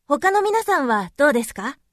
他の皆さんはどうですか？